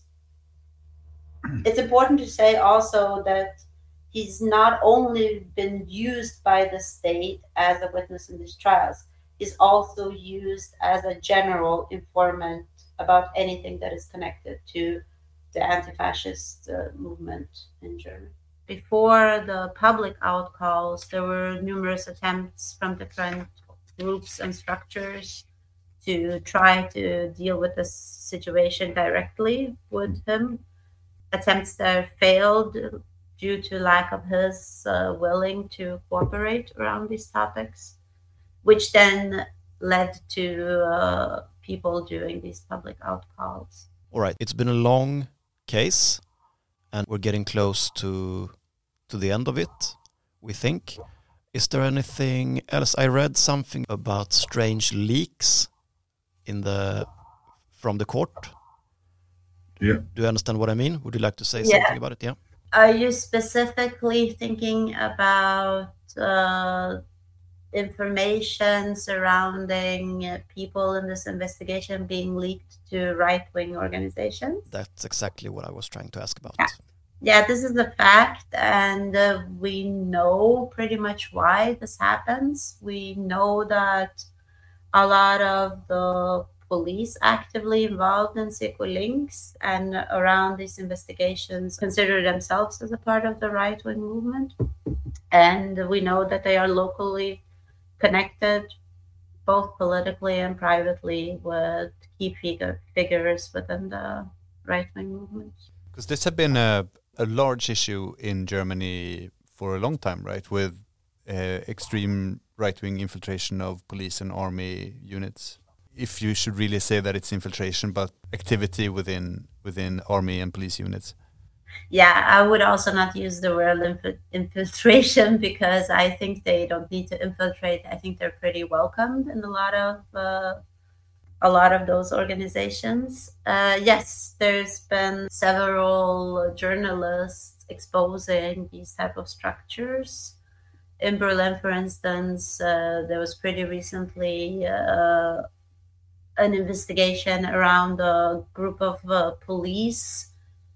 It's important to say also that he's not only been used by the state as a witness in these trials, he's also used as a general informant about anything that is connected to the anti-fascist uh, movement in Germany. Before the public outcalls, there were numerous attempts from different groups and structures to try to deal with this situation directly with him. Attempts that failed due to lack of his uh, willing to cooperate around these topics, which then led to uh, people doing these public outcalls. All right, it's been a long case, and we're getting close to to the end of it, we think. Is there anything else? I read something about strange leaks in the from the court. Yeah. Do you understand what I mean? Would you like to say Yeah. something about it? Yeah. Are you specifically thinking about uh, information surrounding uh, people in this investigation being leaked to right-wing organizations? That's exactly what I was trying to ask about. Yeah. Yeah, this is a fact, and uh, we know pretty much why this happens. We know that a lot of the police actively involved in Sekulinks and around these investigations consider themselves as a part of the right-wing movement. And we know that they are locally connected, both politically and privately, with key figure, figures within the right-wing movement. Because this has been a, a large issue in Germany for a long time, right? With uh, extreme right-wing infiltration of police and army units. If you should really say that it's infiltration, but activity within within army and police units. Yeah, I would also not use the word inf- infiltration because I think they don't need to infiltrate. I think they're pretty welcomed in a lot of uh, a lot of those organizations. Uh, yes, there's been several journalists exposing these type of structures. In Berlin, for instance, uh, there was pretty recently uh, an investigation around a group of uh, police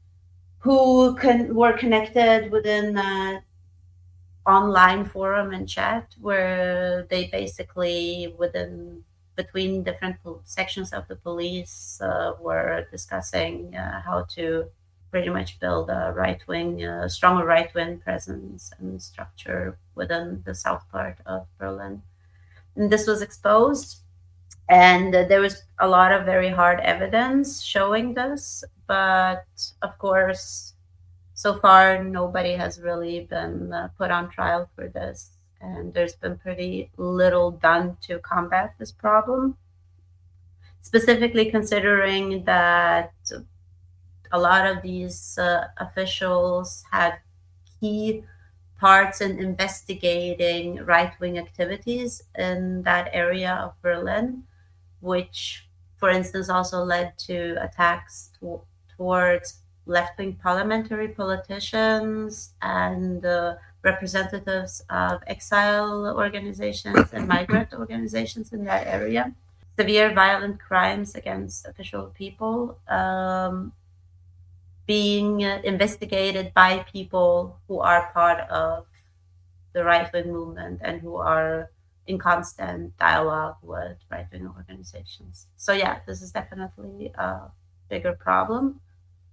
who con- were connected within an online forum and chat where they basically within between different po- sections of the police uh, were discussing uh, how to pretty much build a right-wing, uh, stronger right-wing presence and structure within the south part of Berlin. And this was exposed, and uh, there was a lot of very hard evidence showing this, but of course, so far nobody has really been uh, put on trial for this, and there's been pretty little done to combat this problem, specifically considering that a lot of these uh, officials had key parts in investigating right-wing activities in that area of Berlin, which, for instance, also led to attacks to- towards left-wing parliamentary politicians and uh, representatives of exile organizations and migrant organizations in that area. Severe violent crimes against official people um, being uh, investigated by people who are part of the right-wing movement and who are in constant dialogue with right-wing organizations. So yeah, this is definitely a bigger problem.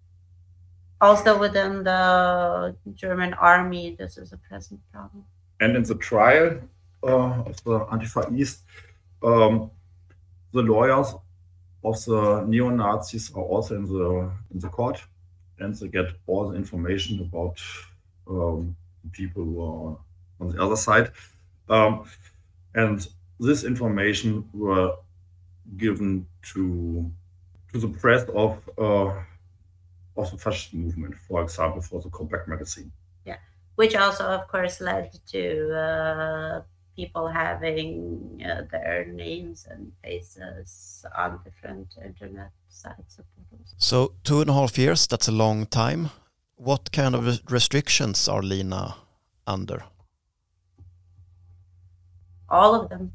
Also within the German army, this is a present problem. And in the trial uh, of the Antifa East, um, the lawyers of the neo-Nazis are also in the in the court, and they get all the information about um, people who are on the other side. Um, and this information were given to to the press of uh, of the fascist movement, for example, for the Compact magazine. Yeah, which also, of course, led to uh, people having uh, their names and faces on different internet sites. So two and a half years, that's a long time. What kind of res- restrictions are Lina under? All of them.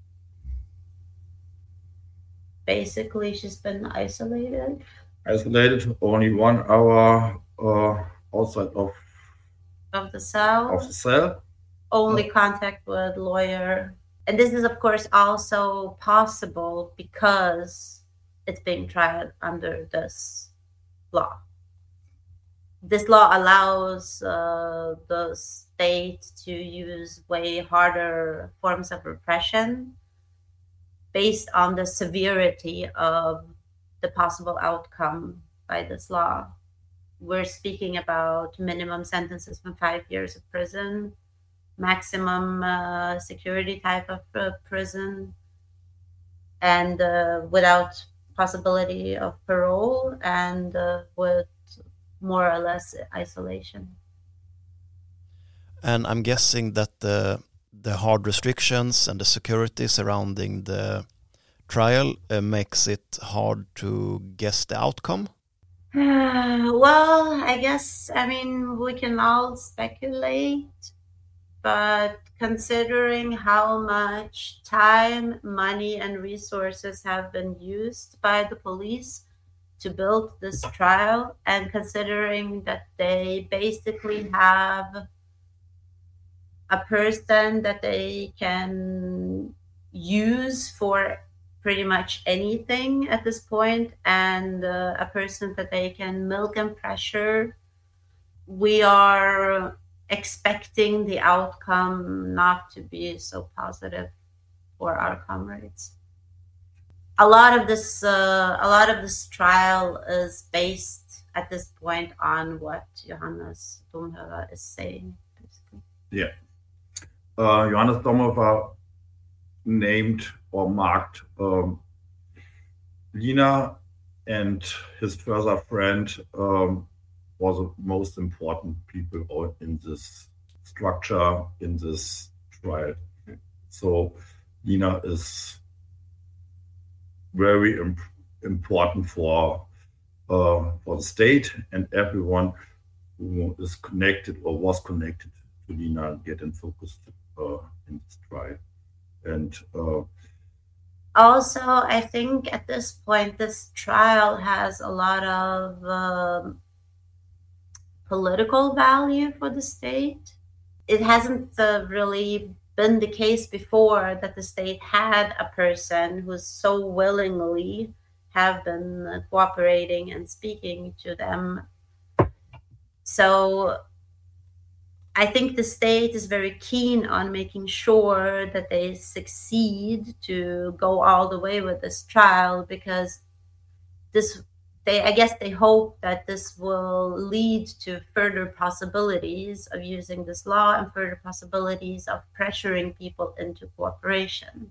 Basically, she's been isolated. Isolated, only one hour uh, outside of Of the cell. of the cell. Only contact with lawyer. And this is, of course, also possible because it's being tried under this law. This law allows uh, the state to use way harder forms of repression based on the severity of the possible outcome by this law. We're speaking about minimum sentences from five years of prison, maximum uh, security type of uh, prison, and uh, without possibility of parole, and uh, with more or less isolation. And I'm guessing that the the hard restrictions and the security surrounding the trial uh, makes it hard to guess the outcome. Uh, well, I guess, I mean, we can all speculate, but considering how much time, money, and resources have been used by the police to build this trial, and considering that they basically have a person that they can use for pretty much anything at this point, and uh, a person that they can milk and pressure, we are expecting the outcome not to be so positive for our comrades. A lot of this, uh, a lot of this trial is based at this point on what Johannes Domhöver is saying, basically. Yeah. Uh, Johannes Domhöver named or marked um, Lina and his further friend um, were the most important people in this structure, in this trial. So Lina is very imp- important for uh, for the state, and everyone who is connected or was connected to Lina get in focus uh, in this trial. And uh, Also, I think at this point, this trial has a lot of um, political value for the state. It hasn't uh, really been the case before that the state had a person who's so willingly have been uh, cooperating and speaking to them. So I think the state is very keen on making sure that they succeed to go all the way with this trial, because this they I guess they hope that this will lead to further possibilities of using this law and further possibilities of pressuring people into cooperation.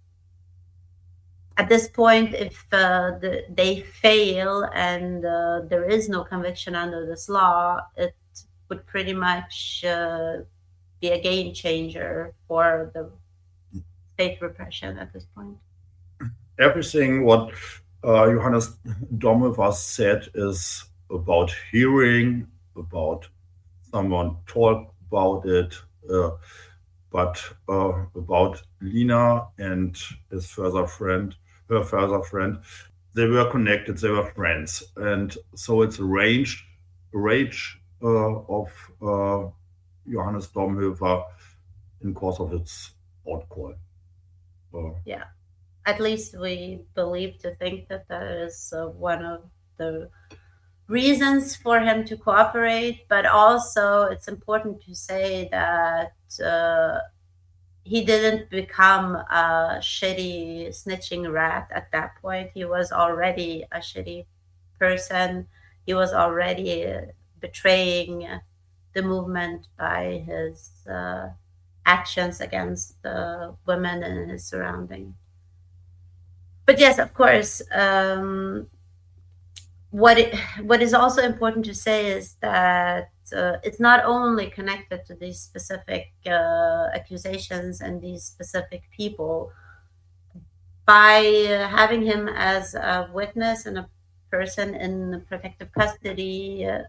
At this point, if uh, the, they fail and uh, there is no conviction under this law, it would pretty much uh, be a game changer for the state repression at this point. Everything what uh, Johannes Domhoefer said is about hearing, about someone talk about it, uh, but uh, about Lina and his further friend, her further friend, they were connected, they were friends. And so it's a range, range uh, of uh, Johannes Domhoefer in course of its outcall. Uh, yeah, at least we believe to think that that is uh, one of the reasons for him to cooperate, but also it's important to say that uh, he didn't become a shitty snitching rat at that point. He was already a shitty person. He was already uh, betraying the movement by his uh, actions against the women in his surrounding. But yes, of course, um, what it, what is also important to say is that uh, it's not only connected to these specific uh, accusations and these specific people. By uh, having him as a witness and a person in protective custody, uh,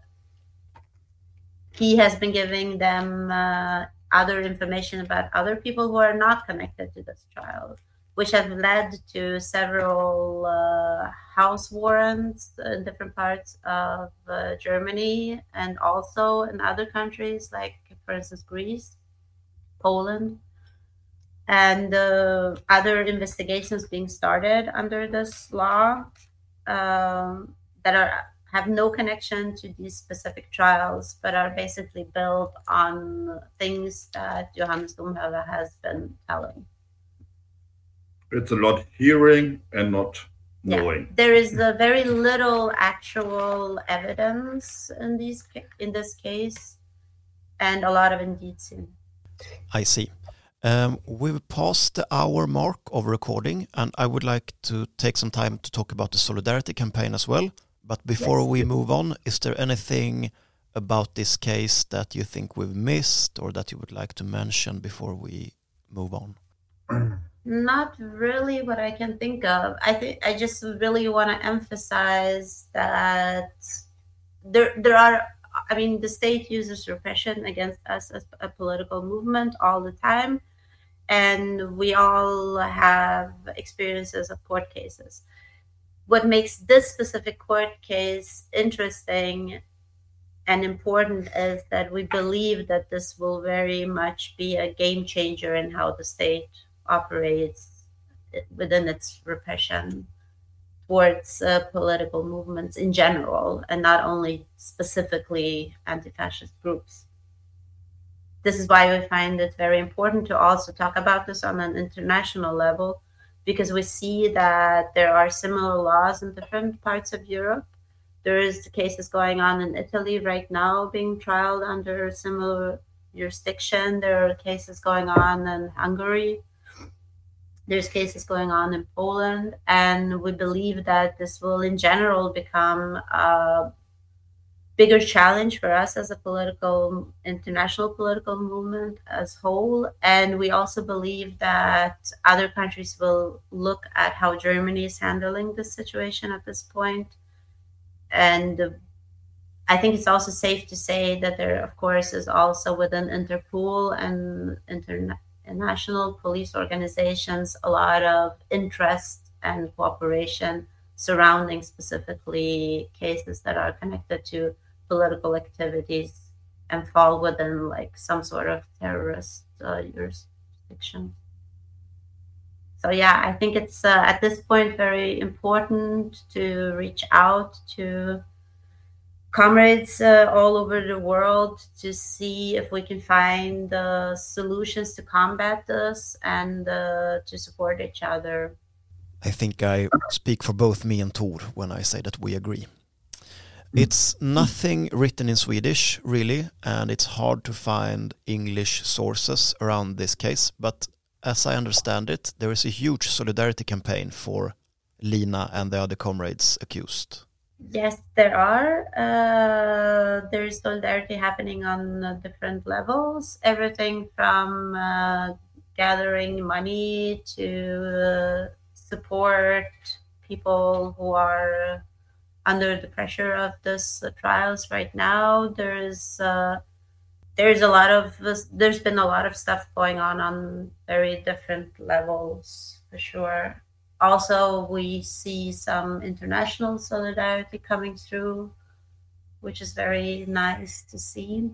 he has been giving them uh, other information about other people who are not connected to this trial, which have led to several uh, house warrants in different parts of uh, Germany and also in other countries, like, for instance, Greece, Poland, and uh, other investigations being started under this law um, that are have no connection to these specific trials, but are basically built on things that Johannes Domhoefer has been telling. It's a lot hearing and not knowing. Yeah, there is a very little actual evidence in these in this case, and a lot of indicium. I see. Um, we've passed the hour mark of recording, and I would like to take some time to talk about the Solidarity campaign as well. But before yes. we move on, is there anything about this case that you think we've missed or that you would like to mention before we move on? Not really what I can think of. I think I just really want to emphasize that there there are, I mean, the state uses repression against us as a political movement all the time, and we all have experiences of court cases. What makes this specific court case interesting and important is that we believe that this will very much be a game changer in how the state operates within its repression towards uh, political movements in general, and not only specifically anti-fascist groups. This is why we find it very important to also talk about this on an international level, because we see that there are similar laws in different parts of Europe. There is cases going on in Italy right now being trialed under similar jurisdiction. There are cases going on in Hungary. There's cases going on in Poland, and we believe that this will in general become a bigger challenge for us as a political, international political movement as whole. And we also believe that other countries will look at how Germany is handling this situation at this point. And I think it's also safe to say that there, of course, is also within Interpol and international police organizations a lot of interest and cooperation surrounding specifically cases that are connected to political activities and fall within like some sort of terrorist uh, jurisdiction. So yeah, I think it's uh, at this point very important to reach out to comrades uh, all over the world to see if we can find uh, solutions to combat this and uh, to support each other. I think I speak for both me and Tor when I say that we agree. It's nothing written in Swedish, really, and it's hard to find English sources around this case. But as I understand it, there is a huge solidarity campaign for Lina and the other comrades accused. Yes, there are. Uh, there is solidarity happening on uh, different levels. Everything from uh, gathering money to uh, support people who are under the pressure of this uh, trials right now. There's uh, there's a lot of there's been a lot of stuff going on on very different levels for sure. Also, we see some international solidarity coming through, which is very nice to see.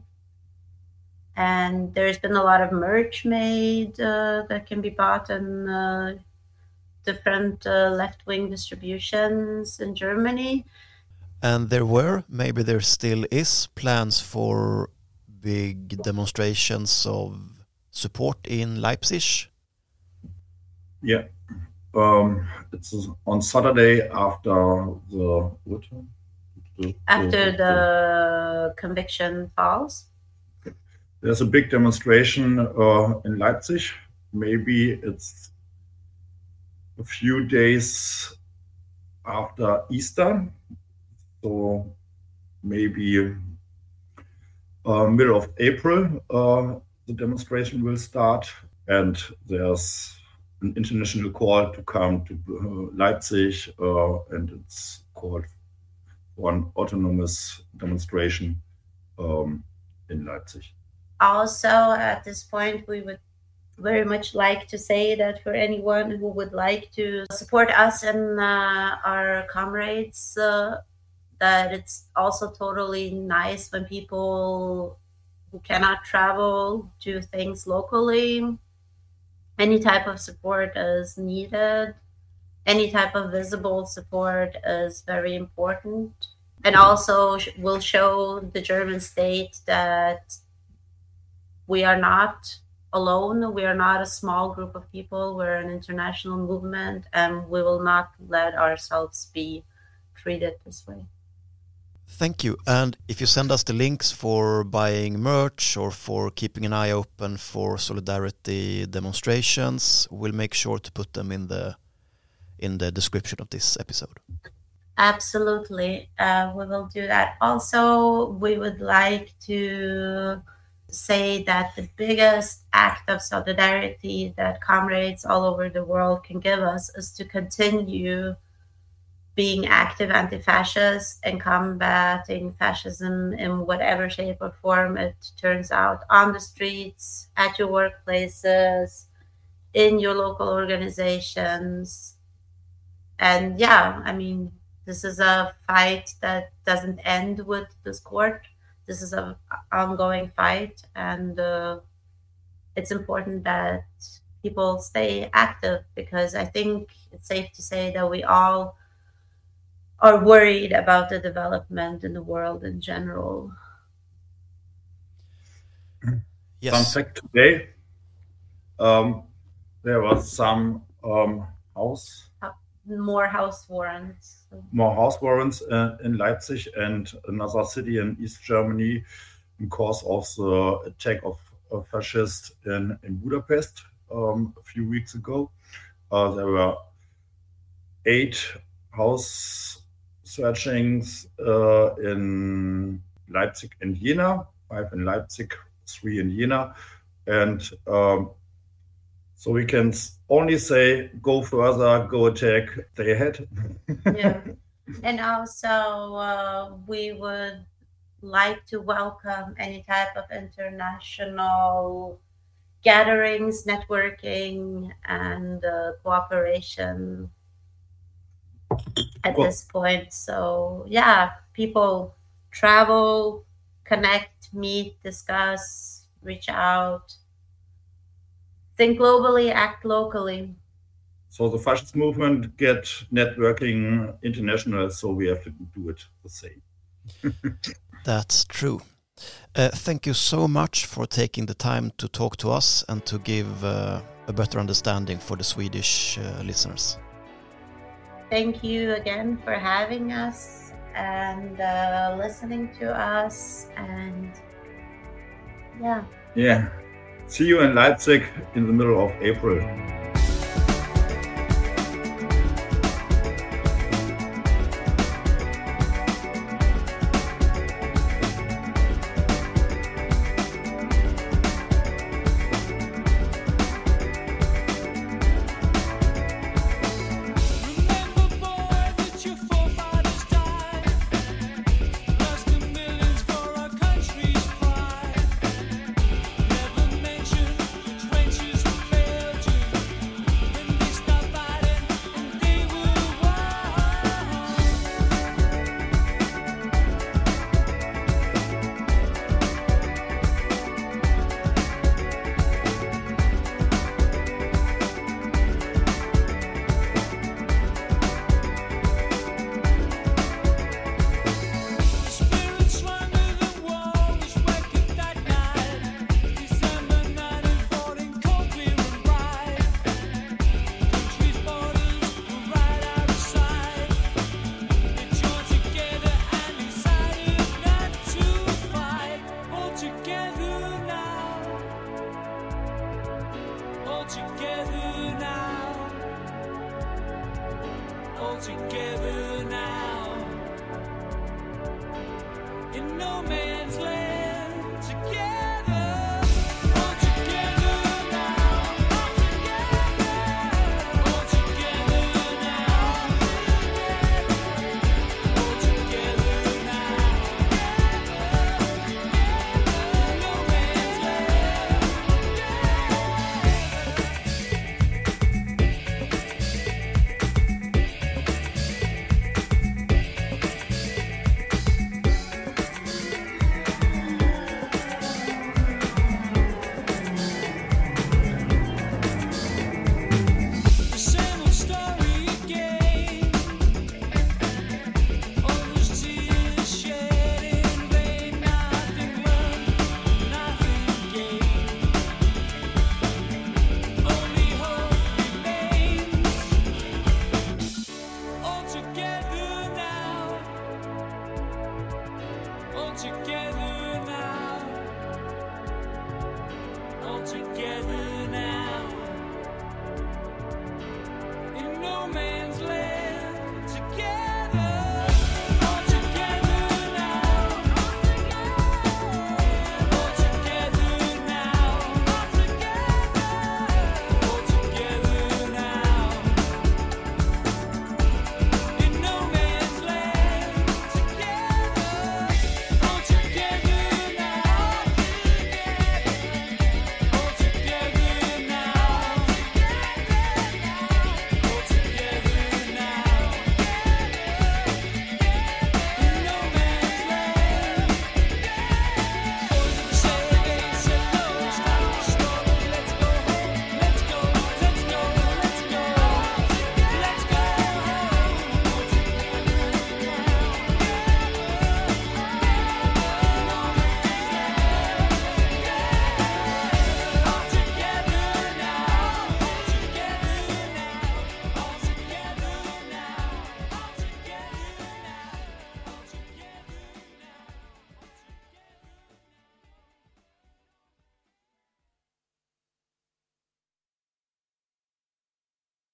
And there's been a lot of merch made uh, that can be bought in uh, different uh, left-wing distributions in Germany. And there were, maybe there still is, plans for big demonstrations of support in Leipzig? Yeah. Um, it's on Saturday after the what? The, After the, the conviction falls. There's a big demonstration uh, in Leipzig. Maybe it's a few days after Easter, so maybe uh, middle of April uh, the demonstration will start, and there's an international call to come to uh, Leipzig, uh, and it's called for an autonomous demonstration um, in Leipzig. Also, at this point, we would very much like to say that for anyone who would like to support us and uh, our comrades, uh, that it's also totally nice when people who cannot travel do things locally. Any type of support is needed. Any type of visible support is very important, and also will show the German state that we are not alone. We are not a small group of people. We're an international movement, and we will not let ourselves be treated this way. Thank you. And if you send us the links for buying merch or for keeping an eye open for solidarity demonstrations, we'll make sure to put them in the in the description of this episode. Absolutely. Uh, we will do that. Also, we would like to say that the biggest act of solidarity that comrades all over the world can give us is to continue being active anti-fascist and combating fascism in whatever shape or form it turns out, on the streets, at your workplaces, in your local organizations. And yeah, I mean, this is a fight that doesn't end with this court. This is an ongoing fight, and uh, it's important that people stay active, because I think it's safe to say that we all are worried about the development in the world in general. Yes. Fun fact today, um, there was some um, house More house warrants. more house warrants uh, in Leipzig and another city in East Germany because of the attack of a fascist in, in Budapest um, a few weeks ago. uh, there were eight house searchings uh, in Leipzig and Jena, five in Leipzig, three in Jena. And um, so we can only say, go further, go attack, stay ahead. Yeah. And also, uh, we would like to welcome any type of international gatherings, networking, and uh, cooperation at Cool. this point. So, yeah, people travel, connect, meet, discuss, reach out, think globally, act locally. So the fascist movement get networking international, so we have to do it the same. That's true. Uh, thank you so much for taking the time to talk to us and to give uh, a better understanding for the Swedish uh, listeners. Thank you again for having us and uh, listening to us. And yeah. Yeah. See you in Leipzig in the middle of April. Together now, in no man's land.